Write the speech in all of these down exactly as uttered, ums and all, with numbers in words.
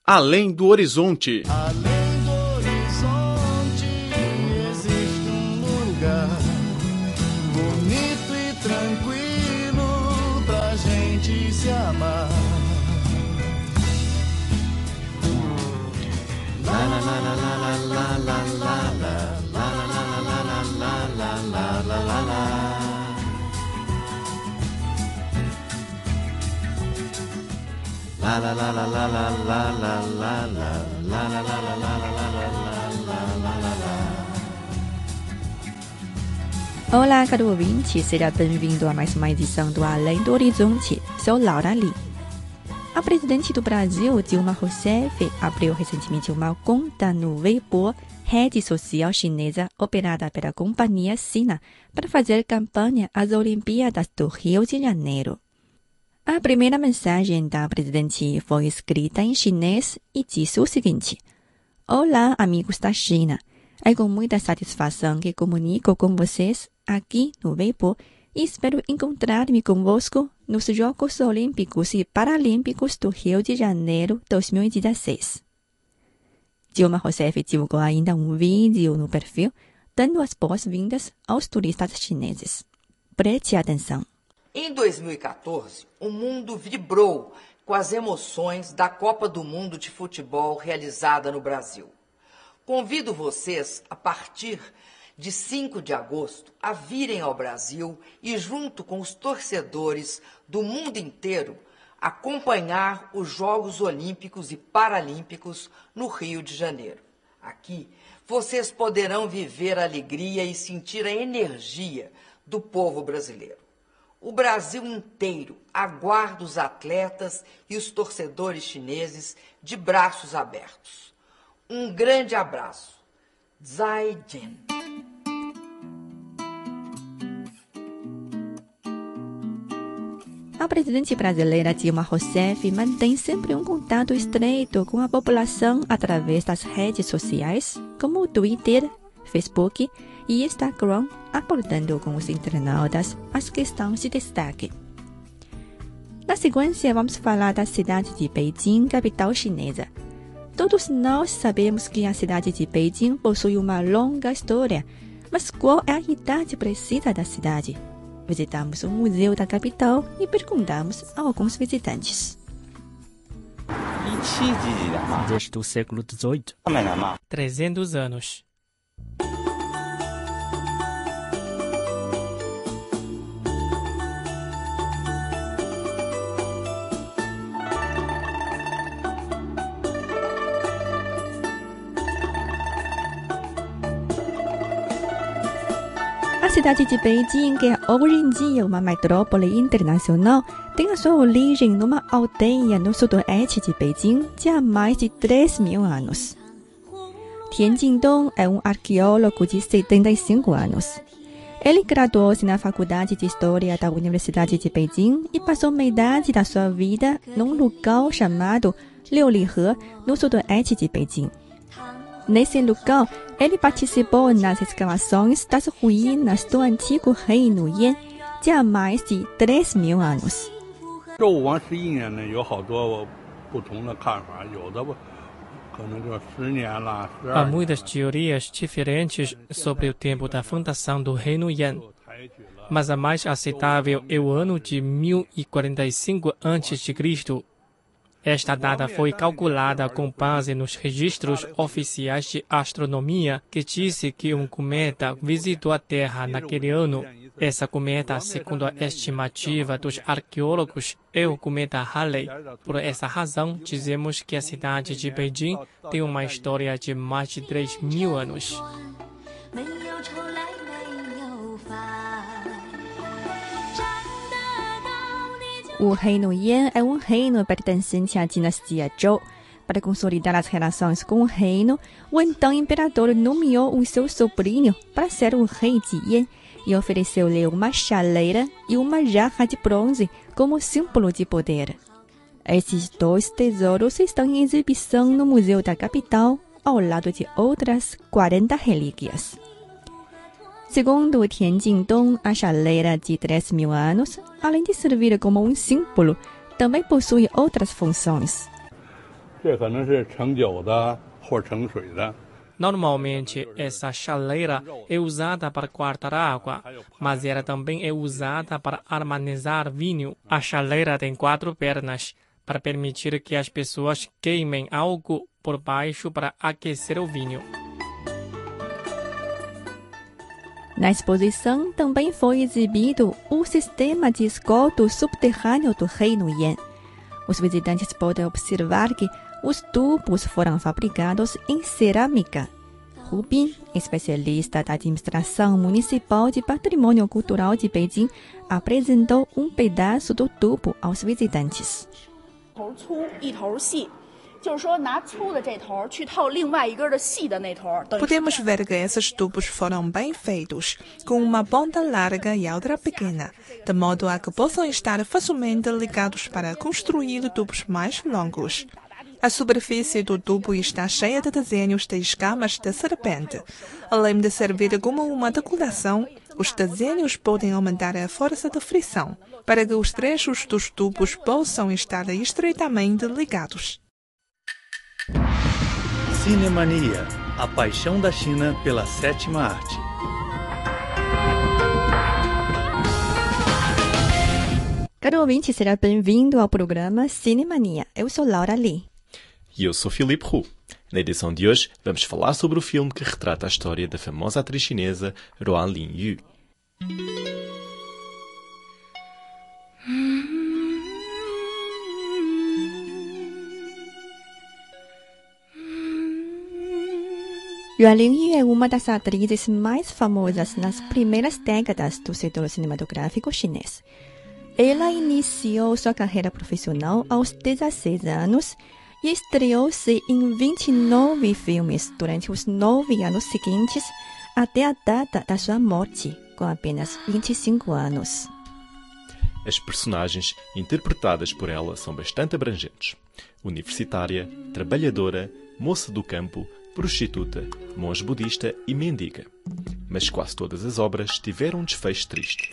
Além do horizonte. Além do horizonte existe um lugar bonito e tranquilo pra gente se amar. La la la la la la la la la la la la la la la. La la la la la la la la la la la la la la la la la la. Olá, caro ouvinte, seja bem-vindo a mais uma edição do Além do Horizonte. Sou Laura Lee. A presidente do Brasil, Dilma Rousseff, abriu recentemente uma conta no Weibo, rede social chinesa operada pela companhia Sina, para fazer campanha às Olimpíadas do Rio de Janeiro. A primeira mensagem da presidente foi escrita em chinês e disse o seguinte: Olá, amigos da China. É com muita satisfação que comunico com vocês aqui no Weibo e espero encontrar-me convosco nos Jogos Olímpicos e Paralímpicos do Rio de Janeiro dois mil e dezesseis. Dilma Rousseff divulgou ainda um vídeo no perfil dando as boas-vindas aos turistas chineses. Preste atenção. Em dois mil e quatorze, o mundo vibrou com as emoções da Copa do Mundo de Futebol realizada no Brasil. Convido vocês, a partir de cinco de agosto, a virem ao Brasil e, junto com os torcedores do mundo inteiro, acompanhar os Jogos Olímpicos e Paralímpicos no Rio de Janeiro. Aqui, vocês poderão viver a alegria e sentir a energia do povo brasileiro. O Brasil inteiro aguarda os atletas e os torcedores chineses de braços abertos. Um grande abraço. Zaijian. A presidente brasileira Dilma Rousseff mantém sempre um contato estreito com a população através das redes sociais, como o Twitter, Facebook e Instagram, abordando com os internautas as questões de destaque. Na sequência, vamos falar da cidade de Beijing, capital chinesa. Todos nós sabemos que a cidade de Beijing possui uma longa história, mas qual é a idade precisa da cidade? Visitamos o museu da capital e perguntamos a alguns visitantes. Desde o século dezoito. trezentos anos. A cidade de Beijing, que é hoje em dia uma metrópole internacional, tem a sua origem numa aldeia no sudoeste de Beijing de há mais de três mil anos. Tian Jingdong é um arqueólogo de setenta e cinco anos. Ele graduou-se na Faculdade de História da Universidade de Beijing e passou metade da sua vida num lugar chamado Liulihe, no sudoeste de Beijing. Nesse lugar, ele participou nas escavações das ruínas do antigo reino Yan, de há mais de três mil anos. Há muitas teorias diferentes sobre o tempo da fundação do reino Yan, mas a mais aceitável é o ano de mil e quarenta e cinco antes de Cristo. Esta data foi calculada com base nos registros oficiais de astronomia, que disse que um cometa visitou a Terra naquele ano. Essa cometa, segundo a estimativa dos arqueólogos, é o cometa Halley. Por essa razão, dizemos que a cidade de Beijing tem uma história de mais de três mil anos. O reino Yan é um reino pertencente à dinastia Zhou. Para consolidar as relações com o reino, o então imperador nomeou o seu sobrinho para ser o rei de Yan e ofereceu-lhe uma chaleira e uma jarra de bronze como símbolo de poder. Esses dois tesouros estão em exibição no Museu da Capital, ao lado de outras quarenta relíquias. Segundo Tian Jingdong, a chaleira de três mil anos, além de servir como um símbolo, também possui outras funções. Normalmente, essa chaleira é usada para guardar água, mas ela também é usada para armazenar vinho. A chaleira tem quatro pernas, para permitir que as pessoas queimem algo por baixo para aquecer o vinho. Na exposição também foi exibido o sistema de esgoto subterrâneo do Reino Yan. Os visitantes podem observar que os tubos foram fabricados em cerâmica. Rubin, especialista da Administração Municipal de Patrimônio Cultural de Beijing, apresentou um pedaço do tubo aos visitantes. Podemos ver que esses tubos foram bem feitos, com uma ponta larga e outra pequena, de modo a que possam estar facilmente ligados para construir tubos mais longos. A superfície do tubo está cheia de desenhos de escamas de serpente. Além de servir como uma decoração, os desenhos podem aumentar a força de frição, para que os trechos dos tubos possam estar estreitamente ligados. Cinemania, a paixão da China pela sétima arte. Caro ouvinte, será bem-vindo ao programa Cinemania. Eu sou Laura Lee. E eu sou Filipe Roux. Na edição de hoje, vamos falar sobre o filme que retrata a história da famosa atriz chinesa Ruan Lingyu. Ruan Lingyu é uma das atrizes mais famosas nas primeiras décadas do setor cinematográfico chinês. Ela iniciou sua carreira profissional aos dezesseis anos e estreou-se em vinte e nove filmes durante os nove anos seguintes, até a data da sua morte, com apenas vinte e cinco anos. As personagens interpretadas por ela são bastante abrangentes. Universitária, trabalhadora, moça do campo, prostituta, monge budista e mendiga. Mas quase todas as obras tiveram um desfecho triste.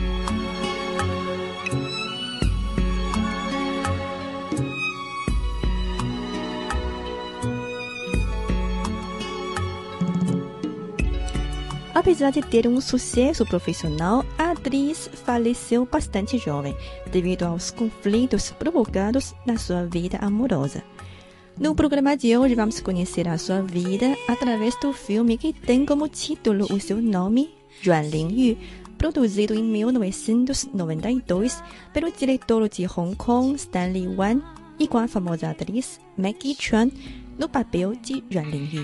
Apesar de ter um sucesso profissional, a atriz faleceu bastante jovem, devido aos conflitos provocados na sua vida amorosa. No programa de hoje, vamos conhecer a sua vida através do filme que tem como título o seu nome, Ruan Lingyu, produzido em mil novecentos e noventa e dois pelo diretor de Hong Kong, Stanley Wan, e com a famosa atriz Maggie Cheung no papel de Ruan Lingyu.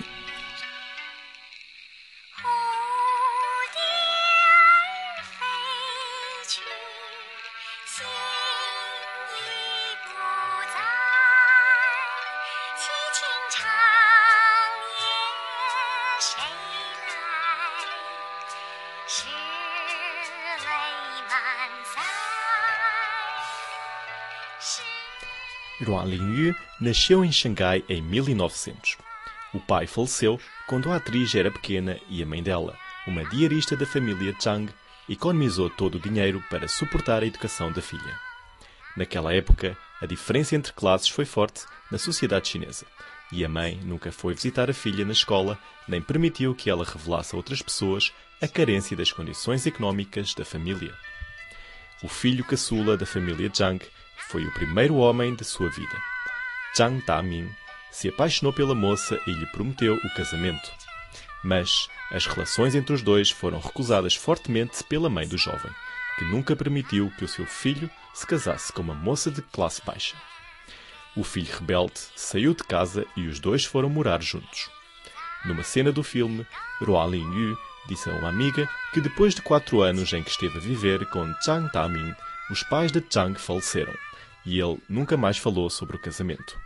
Ruan Lingyu nasceu em Xangai em mil e novecentos. O pai faleceu quando a atriz era pequena e a mãe dela, uma diarista da família Zhang, economizou todo o dinheiro para suportar a educação da filha. Naquela época, a diferença entre classes foi forte na sociedade chinesa, e a mãe nunca foi visitar a filha na escola, nem permitiu que ela revelasse a outras pessoas a carência das condições económicas da família. O filho caçula da família Zhang foi o primeiro homem de sua vida. Zhang Daming se apaixonou pela moça e lhe prometeu o casamento. Mas as relações entre os dois foram recusadas fortemente pela mãe do jovem, que nunca permitiu que o seu filho se casasse com uma moça de classe baixa. O filho rebelde saiu de casa e os dois foram morar juntos. Numa cena do filme, Ruan Lingyu disse a uma amiga que depois de quatro anos em que esteve a viver com Zhang Daming, os pais de Zhang faleceram e ele nunca mais falou sobre o casamento.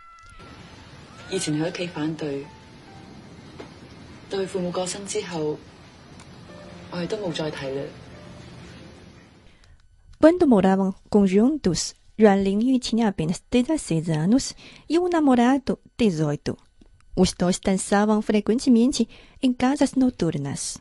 Quando moravam juntos, Ruan Lingyu tinha apenas dezesseis anos e um namorado dezoito. Os dois dançavam frequentemente em casas noturnas.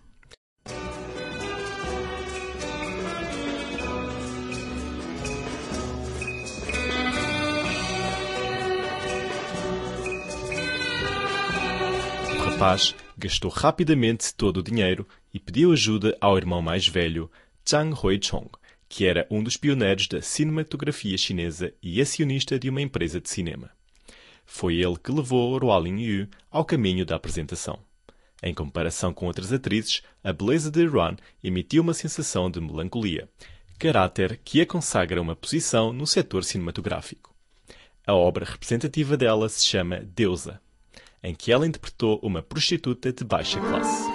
rapaz gastou rapidamente todo o dinheiro e pediu ajuda ao irmão mais velho, Zhang Huichong, que era um dos pioneiros da cinematografia chinesa e acionista de uma empresa de cinema. Foi ele que levou Ruo Lingyu ao caminho da apresentação. Em comparação com outras atrizes, a beleza de Ruan emitiu uma sensação de melancolia, caráter que a consagra uma posição no setor cinematográfico. A obra representativa dela se chama Deusa, em que ela interpretou uma prostituta de baixa classe.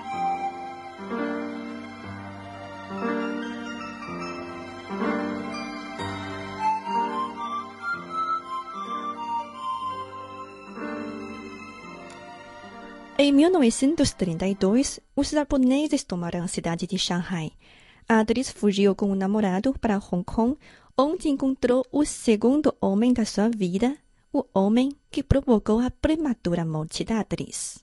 Em mil novecentos e trinta e dois, os japoneses tomaram a cidade de Shanghai. A atriz fugiu com o namorado para Hong Kong, onde encontrou o segundo homem da sua vida, o homem que provocou a prematura morte da atriz.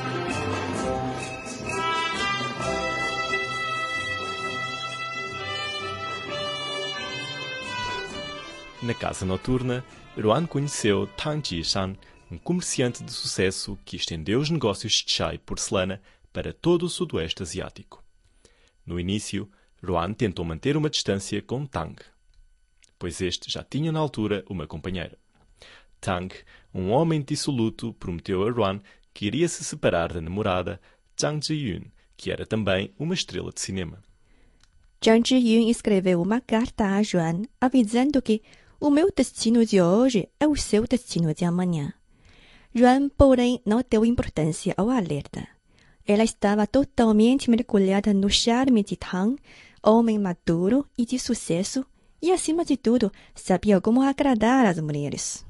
Na casa noturna, Ruan conheceu Tang Jishan, um comerciante de sucesso que estendeu os negócios de chá e porcelana para todo o sudoeste asiático. No início, Ruan tentou manter uma distância com Tang, pois este já tinha na altura uma companheira. Tang, um homem dissoluto, prometeu a Ruan que iria se separar da namorada Zhang Ziyun, que era também uma estrela de cinema. Zhang Ziyun escreveu uma carta a Ruan avisando que o meu destino de hoje é o seu destino de amanhã. Ruan, porém, não deu importância ao alerta. Ela estava totalmente mergulhada no charme de Tang, homem maduro e de sucesso, e, acima de tudo, sabia como agradar as mulheres.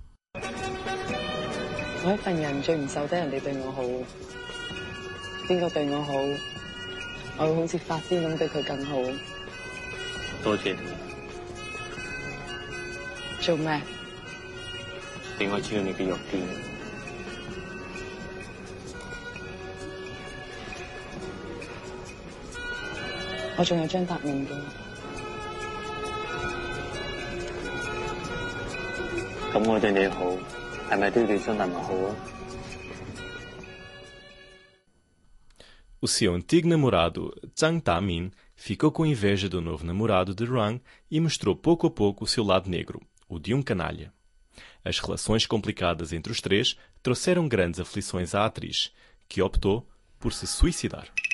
我一份人最唔受得人哋對我好，邊個對我好，我會好似發癲咁對佢更好。 多謝你。 做咩？ 俾我知道你嘅弱點。 我仲有張達面嘅。 咁我對你好，係咪都要對張達明好啊？ O seu antigo namorado, Zhang Damin, ficou com inveja do novo namorado de Ruan e mostrou pouco a pouco o seu lado negro, o de um canalha. As relações complicadas entre os três trouxeram grandes aflições à atriz, que optou por se suicidar.